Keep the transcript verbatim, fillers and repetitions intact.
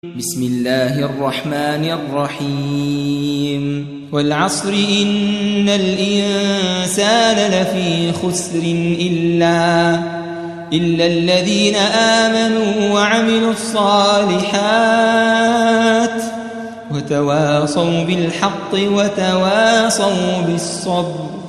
بسم الله الرحمن الرحيم والعصر إن الإنسان لفي خسر إلا إلا الذين آمنوا وعملوا الصالحات وتواصوا بالحق وتواصوا بالصبر